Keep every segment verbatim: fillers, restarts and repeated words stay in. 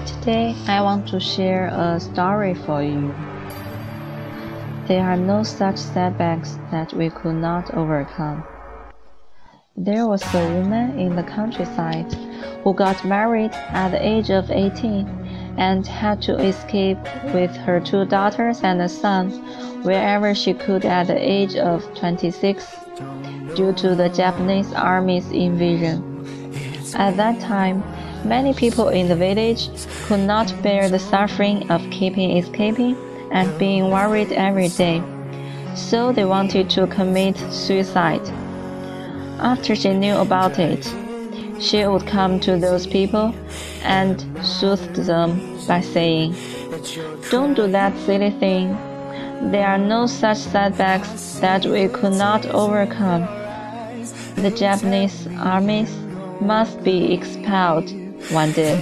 Today, I want to share a story for you. There are no such setbacks that we could not overcome. There was a woman in the countryside who got married at the age of eighteen and had to escape with her two daughters and a son wherever she could at the age of twenty-six due to the Japanese army's invasion. At that time, many people in the village could not bear the suffering of keeping escaping and being worried every day, so they wanted to commit suicide. After she knew about it, she would come to those people and soothe them by saying, "Don't do that silly thing. There are no such setbacks that we could not overcome. The Japanese armies must be expelled one day."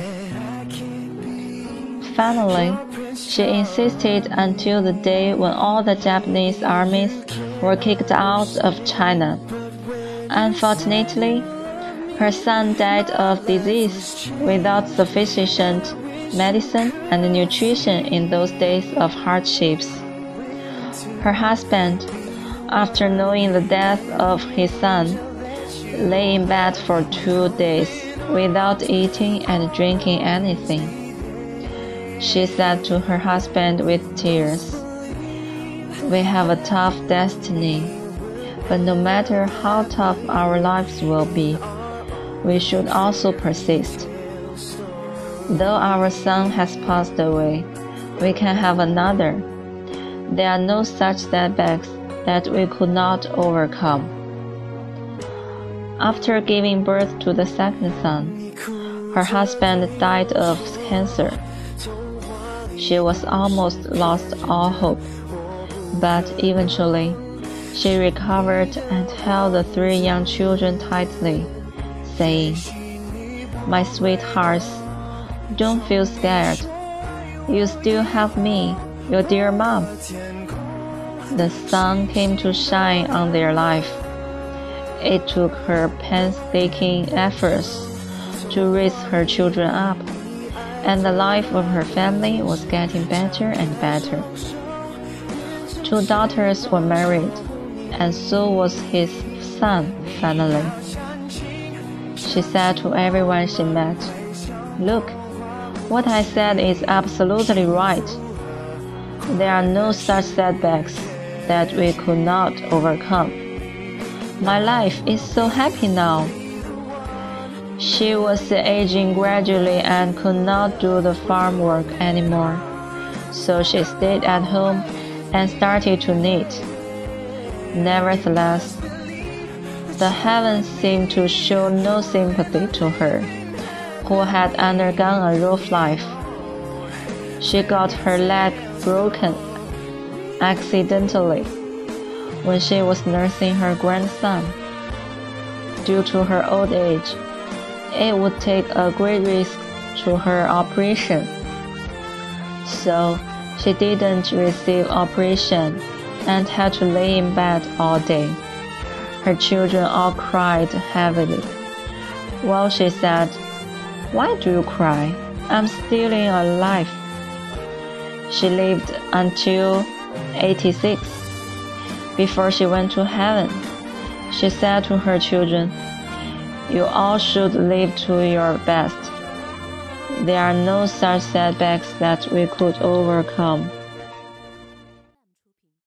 Finally, she insisted until the day when all the Japanese armies were kicked out of China. Unfortunately, her son died of disease without sufficient medicine and nutrition in those days of hardships. Her husband, after knowing the death of his son, lay in bed for two days without eating and drinking anything. She said to her husband with tears, "We have a tough destiny, but no matter how tough our lives will be, we should also persist. Though our son has passed away, we can have another. There are no such setbacks that we could not overcome." After giving birth to the second son, her husband died of cancer. She was almost lost all hope, but eventually she recovered and held the three young children tightly, saying, "My sweethearts, don't feel scared. You still have me, your dear mom." The sun came to shine on their life. It took her painstaking efforts to raise her children up, and the life of her family was getting better and better. Two daughters were married, and so was his son finally. She said to everyone she met, "Look, what I said is absolutely right. There are no such setbacks that we could not overcome. My life is so happy now." She was aging gradually and could not do the farm work anymore, so she stayed at home and started to knit. Nevertheless, the heavens seemed to show no sympathy to her, who had undergone a rough life. She got her leg broken accidentally when she was nursing her grandson. Due to her old age, it would take a great risk to her operation, so she didn't receive operation and had to lay in bed all day. Her children all cried heavily. Well, she said, "Why do you cry? I'm still alive." She lived until eighty-six. Before she went to heaven, she said to her children, "You all should live to your best. There are no such setbacks that we could overcome."